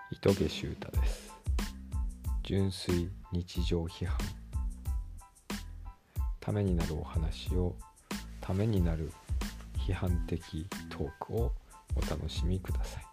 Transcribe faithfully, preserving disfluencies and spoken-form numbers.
糸毛修太です。純粋日常批判、ためになるお話をためになる批判的トークをお楽しみください。